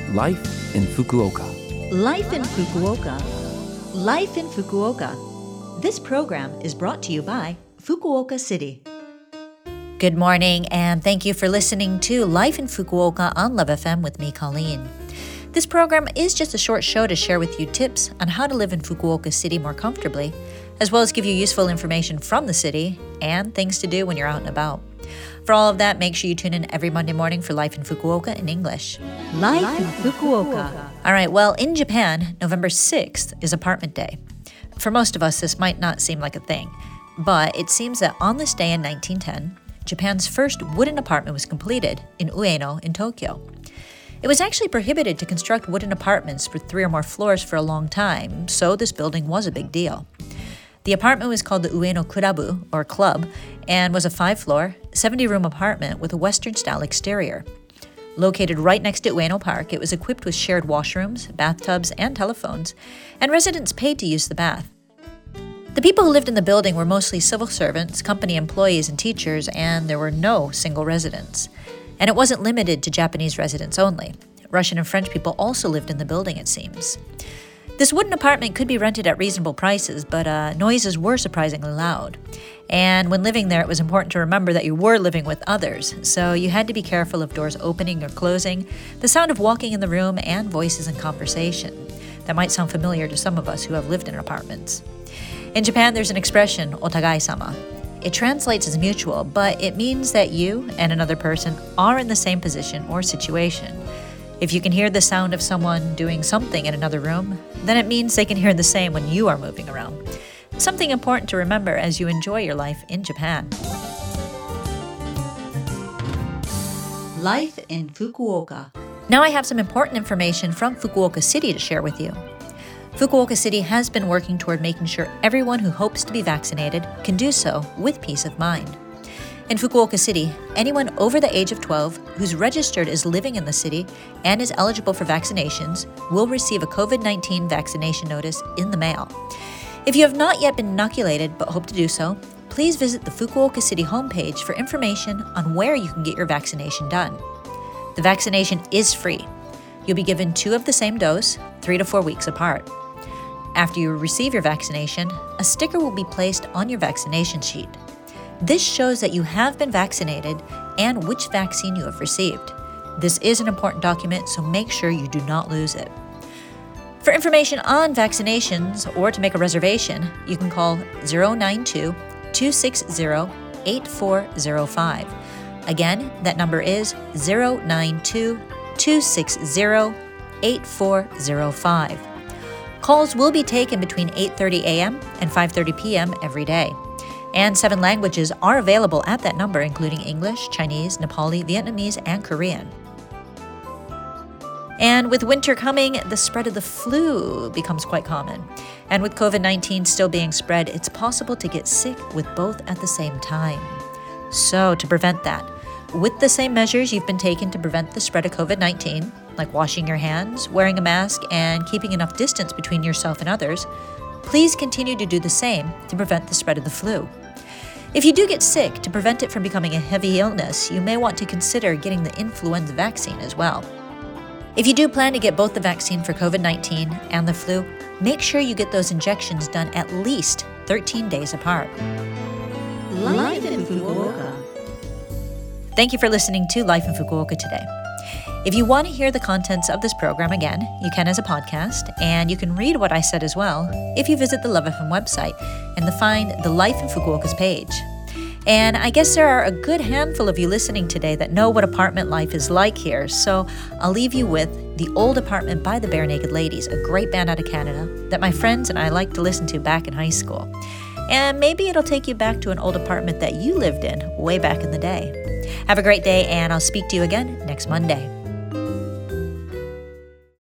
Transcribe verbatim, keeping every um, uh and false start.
Life in Fukuoka. Life in Fukuoka. Life in Fukuoka. This program is brought to you by Fukuoka City. Good morning, and thank you for listening to Life in Fukuoka on Love F M with me, Colleen. This program is just a short show to share with you tips on how to live in Fukuoka City more comfortably, as well as give you useful information from the city and things to do when you're out and about. For all of that, make sure you tune in every Monday morning for Life in Fukuoka in English. Life, Life in Fukuoka. All right, well, in Japan, November sixth is Apartment Day. For most of us, this might not seem like a thing, but it seems that on this day in nineteen ten, Japan's first wooden apartment was completed in Ueno in Tokyo. It was actually prohibited to construct wooden apartments with three or more floors for a long time, so this building was a big deal. The apartment was called the Ueno Kurabu, or Club, and was a five-floor, seventy-room apartment with a Western-style exterior. Located right next to Ueno Park, it was equipped with shared washrooms, bathtubs, and telephones, and residents paid to use the bath. The people who lived in the building were mostly civil servants, company employees, and teachers, and there were no single residents. And it wasn't limited to Japanese residents only. Russian and French people also lived in the building, it seems. This wooden apartment could be rented at reasonable prices, but uh, noises were surprisingly loud. And when living there, it was important to remember that you were living with others, so you had to be careful of doors opening or closing, the sound of walking in the room, and voices and conversation. That might sound familiar to some of us who have lived in apartments. In Japan, there's an expression, otagai-sama. It translates as mutual, but it means that you and another person are in the same position or situation. If you can hear the sound of someone doing something in another room, then it means they can hear the same when you are moving around. Something important to remember as you enjoy your life in Japan. Life in Fukuoka. Now I have some important information from Fukuoka City to share with you. Fukuoka City has been working toward making sure everyone who hopes to be vaccinated can do so with peace of mind. In Fukuoka City, anyone over the age of twelve who's registered as living in the city and is eligible for vaccinations will receive a covid nineteen vaccination notice in the mail. If you have not yet been inoculated but hope to do so, please visit the Fukuoka City homepage for information on where you can get your vaccination done. The vaccination is free. You'll be given two of the same dose, three to four weeks apart. After you receive your vaccination, a sticker will be placed on your vaccination sheet. This shows that you have been vaccinated and which vaccine you have received. This is an important document, so make sure you do not lose it. For information on vaccinations or to make a reservation, you can call zero nine two, two six zero, eight four zero five. Again, that number is zero nine two, two six zero, eight four zero five. Calls will be taken between eight thirty a.m. and five thirty p.m. every day. And seven languages are available at that number, including English, Chinese, Nepali, Vietnamese, and Korean. And with winter coming, the spread of the flu becomes quite common. And with covid nineteen still being spread, it's possible to get sick with both at the same time. So to prevent that, with the same measures you've been taking to prevent the spread of covid nineteen, like washing your hands, wearing a mask, and keeping enough distance between yourself and others, please continue to do the same to prevent the spread of the flu. If you do get sick, to prevent it from becoming a heavy illness, you may want to consider getting the influenza vaccine as well. If you do plan to get both the vaccine for covid nineteen and the flu, make sure you get those injections done at least thirteen days apart. Life in Fukuoka. Thank you for listening to Life in Fukuoka today. If you want to hear the contents of this program again, you can as a podcast, and you can read what I said as well if you visit the Love F M website and find the Life in Fukuoka's page. And I guess there are a good handful of you listening today that know what apartment life is like here, so I'll leave you with The Old Apartment by the Barenaked Ladies, a great band out of Canada that my friends and I liked to listen to back in high school. And maybe it'll take you back to an old apartment that you lived in way back in the day. Have a great day, and I'll speak to you again next Monday.